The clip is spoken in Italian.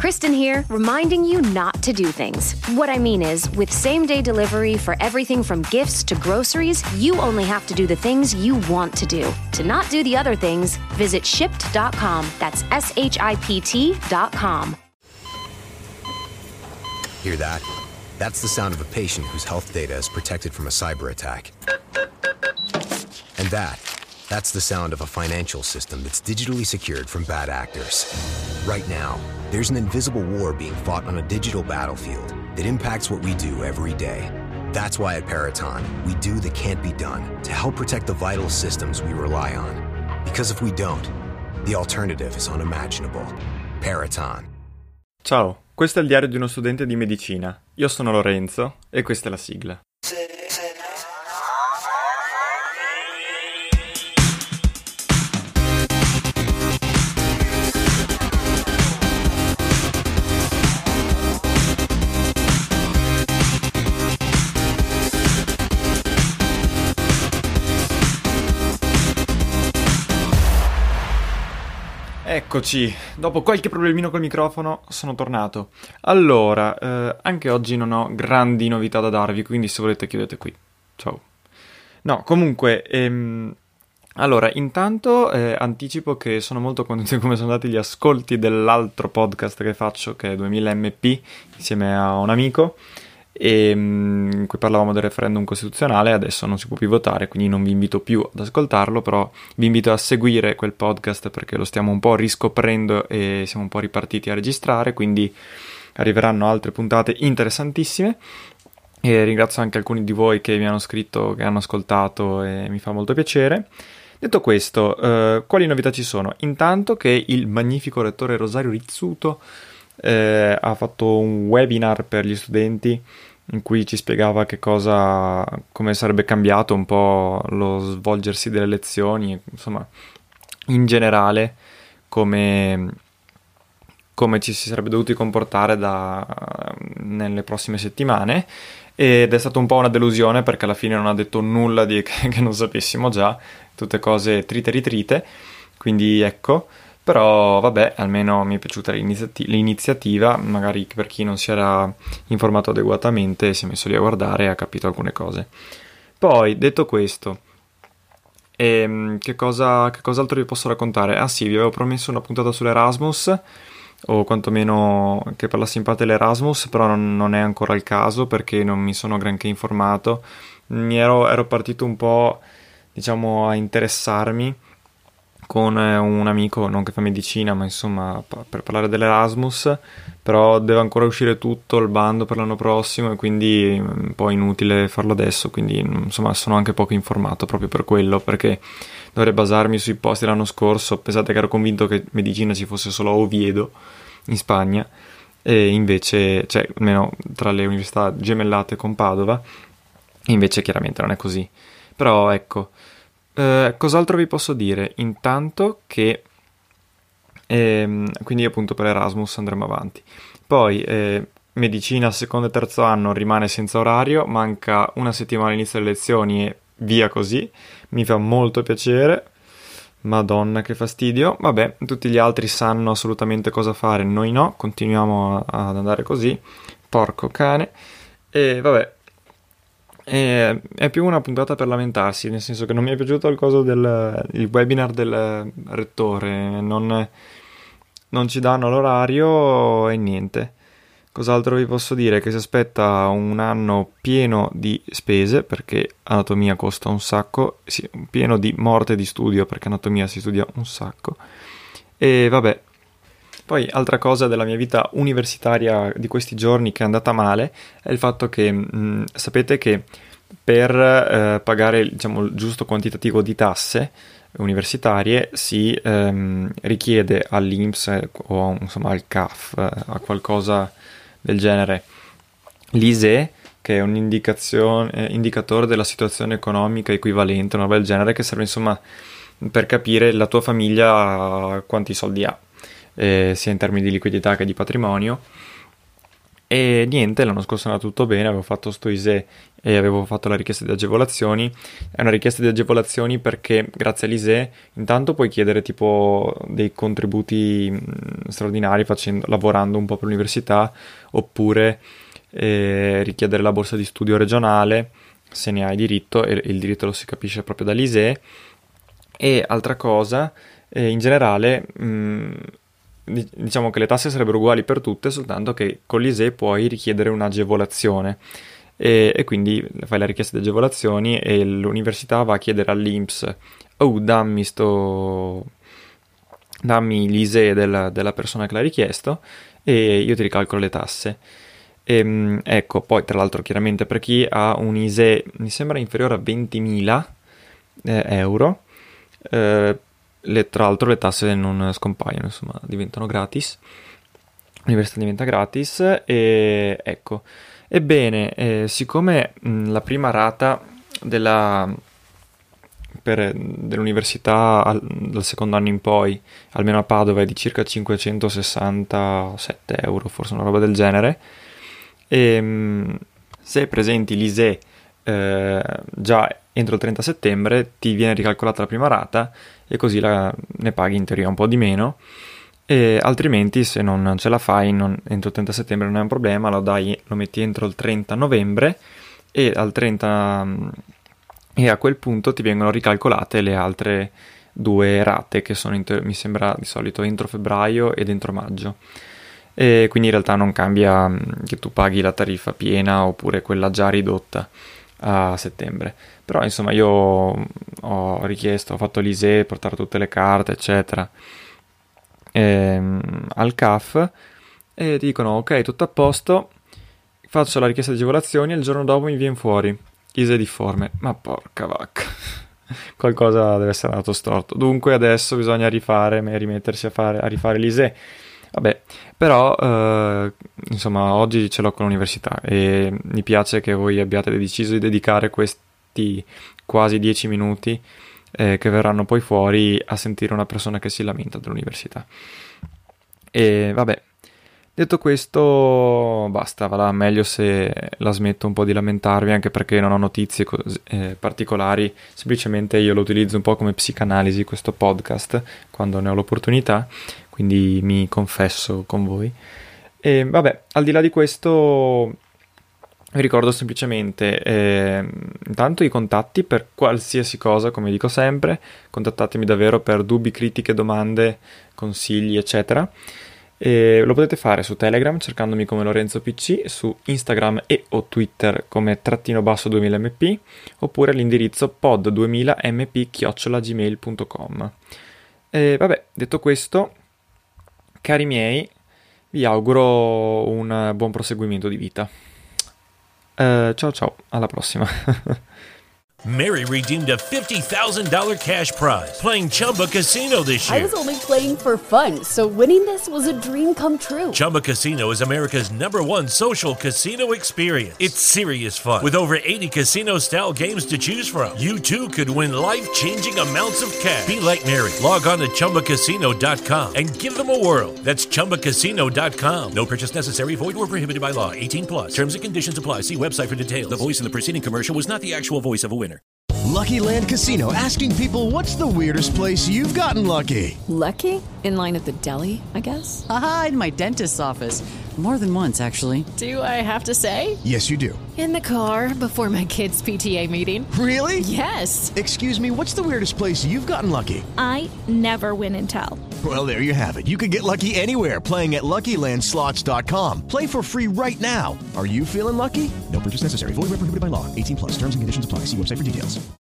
Kristen here, reminding you not to do things. What I mean is, with same-day delivery for everything from gifts to groceries, you only have to do the things you want to do. To not do the other things, visit Shipt.com. That's SHIPT.com. Hear that? That's the sound of a patient whose health data is protected from a cyber attack. And that's the sound of a financial system that's digitally secured from bad actors. Right now, there's an invisible war being fought on a digital battlefield that impacts what we do every day. That's why at Peraton, we do the can't be done to help protect the vital systems we rely on. Because if we don't, the alternative is unimaginable. Peraton. Ciao, questo è il diario di uno studente di medicina. Io sono Lorenzo e questa è la sigla. Eccoci, dopo qualche problemino col microfono sono tornato. Allora, anche oggi non ho grandi novità da darvi, quindi se volete chiudete qui. Ciao. No, comunque, allora, intanto anticipo che sono molto contento di come sono andati gli ascolti dell'altro podcast che faccio, che è 2000 MP, insieme a un amico, in cui parlavamo del referendum costituzionale. Adesso non si può più votare, quindi non vi invito più ad ascoltarlo, però vi invito a seguire quel podcast perché lo stiamo un po' riscoprendo e siamo un po' ripartiti a registrare, quindi arriveranno altre puntate interessantissime. E ringrazio anche alcuni di voi che mi hanno scritto, che hanno ascoltato, e mi fa molto piacere. Detto questo, quali novità ci sono? Intanto che il magnifico rettore Rosario Rizzuto ha fatto un webinar per gli studenti in cui ci spiegava come sarebbe cambiato un po' lo svolgersi delle lezioni, insomma, in generale come ci si sarebbe dovuti comportare nelle prossime settimane, ed è stata un po' una delusione perché alla fine non ha detto nulla che non sapessimo già, tutte cose trite ritrite, quindi ecco. Però vabbè, almeno mi è piaciuta l'iniziativa, magari per chi non si era informato adeguatamente si è messo lì a guardare e ha capito alcune cose. Poi, detto questo, che cos'altro vi posso raccontare? Ah sì, vi avevo promesso una puntata sull'Erasmus, o quantomeno che parlassi in parte dell'Erasmus, però non è ancora il caso perché non mi sono granché informato. Ero partito un po', diciamo, a interessarmi con un amico, non che fa medicina, ma insomma per parlare dell'Erasmus, però deve ancora uscire tutto il bando per l'anno prossimo e quindi è un po' inutile farlo adesso, quindi insomma sono anche poco informato proprio per quello, perché dovrei basarmi sui posti l'anno scorso. Pensate che ero convinto che medicina ci fosse solo a Oviedo in Spagna, e invece, cioè almeno tra le università gemellate con Padova, e invece chiaramente non è così. Però ecco, cos'altro vi posso dire? Intanto che quindi appunto per Erasmus andremo avanti. Poi medicina secondo e terzo anno rimane senza orario, manca una settimana all'inizio delle lezioni e via così. Mi fa molto piacere, madonna che fastidio. Vabbè, tutti gli altri sanno assolutamente cosa fare, noi no, continuiamo ad andare così, porco cane. E vabbè, è più una puntata per lamentarsi, nel senso che non mi è piaciuto il webinar del rettore, non ci danno l'orario e niente. Cos'altro vi posso dire? Che si aspetta un anno pieno di spese, perché anatomia costa un sacco, sì, pieno di morte di studio, perché anatomia si studia un sacco. E vabbè. Poi, altra cosa della mia vita universitaria di questi giorni che è andata male è il fatto che sapete che per pagare, diciamo, il giusto quantitativo di tasse universitarie si richiede all'INPS o insomma al CAF, a qualcosa del genere, l'ISEE, che è un indicatore della situazione economica equivalente, una roba del genere, che serve insomma per capire la tua famiglia quanti soldi ha, sia in termini di liquidità che di patrimonio. E niente, l'anno scorso è andato tutto bene, avevo fatto sto ISEE e avevo fatto la richiesta di agevolazioni. È una richiesta di agevolazioni perché grazie all'ISEE intanto puoi chiedere tipo dei contributi straordinari lavorando un po' per l'università, oppure richiedere la borsa di studio regionale se ne hai diritto, e il diritto lo si capisce proprio dall'ISEE. E altra cosa, in generale diciamo che le tasse sarebbero uguali per tutte, soltanto che con l'ISEE puoi richiedere un'agevolazione e quindi fai la richiesta di agevolazioni e l'università va a chiedere all'INPS: oh, dammi l'ISEE della persona che l'ha richiesto e io ti ricalcolo le tasse. Ecco, poi tra l'altro chiaramente per chi ha un ISEE mi sembra inferiore a 20.000 euro, tra l'altro le tasse non scompaiono, insomma diventano gratis, l'università diventa gratis. E ecco, ebbene, siccome la prima rata dell'università dal secondo anno in poi, almeno a Padova, è di circa 567 euro, forse una roba del genere, e se presenti l'ISEE già entro il 30 settembre ti viene ricalcolata la prima rata e così ne paghi in teoria un po' di meno, e altrimenti se non ce la fai entro il 30 settembre non è un problema, lo metti entro il 30 novembre e a quel punto ti vengono ricalcolate le altre 2 rate che sono mi sembra di solito entro febbraio ed entro maggio. E quindi in realtà non cambia che tu paghi la tariffa piena oppure quella già ridotta a settembre. Però insomma io ho fatto l'ISEE, portare tutte le carte eccetera al CAF e ti dicono ok, tutto a posto, faccio la richiesta di agevolazioni e il giorno dopo mi viene fuori ISEE difforme. Ma porca vacca, qualcosa deve essere andato storto. Dunque adesso bisogna rimettersi a rifare l'ISEE. Vabbè, però insomma oggi ce l'ho con l'università e mi piace che voi abbiate deciso di dedicare questi quasi 10 minuti che verranno poi fuori a sentire una persona che si lamenta dell'università. E vabbè, detto questo basta, va là, meglio se la smetto un po' di lamentarvi, anche perché non ho notizie particolari, semplicemente io lo utilizzo un po' come psicanalisi questo podcast quando ne ho l'opportunità, quindi mi confesso con voi. E vabbè, al di là di questo vi ricordo semplicemente intanto i contatti per qualsiasi cosa, come dico sempre, contattatemi davvero per dubbi, critiche, domande, consigli eccetera. Lo potete fare su Telegram cercandomi come Lorenzo PC, su Instagram e o Twitter come _2000mp, oppure all'indirizzo pod2000mp@gmail.com. Vabbè, detto questo, cari miei, vi auguro un buon proseguimento di vita. Ciao, alla prossima. Mary redeemed a $50,000 cash prize playing Chumba Casino this year. I was only playing for fun, so winning this was a dream come true. Chumba Casino is America's #1 social casino experience. It's serious fun. With over 80 casino-style games to choose from, you too could win life-changing amounts of cash. Be like Mary. Log on to ChumbaCasino.com and give them a whirl. That's ChumbaCasino.com. No purchase necessary. Void where prohibited by law. 18+. Terms and conditions apply. See website for details. The voice in the preceding commercial was not the actual voice of a winner. Lucky Land Casino, asking people, what's the weirdest place you've gotten lucky? Lucky? In line at the deli, I guess? Aha, in my dentist's office. More than once, actually. Do I have to say? Yes, you do. In the car before my kids' PTA meeting. Really? Yes. Excuse me, what's the weirdest place you've gotten lucky? I never win and tell. Well, there you have it. You can get lucky anywhere, playing at LuckyLandSlots.com. Play for free right now. Are you feeling lucky? No purchase necessary. Void where prohibited by law. 18+. Terms and conditions apply. See website for details.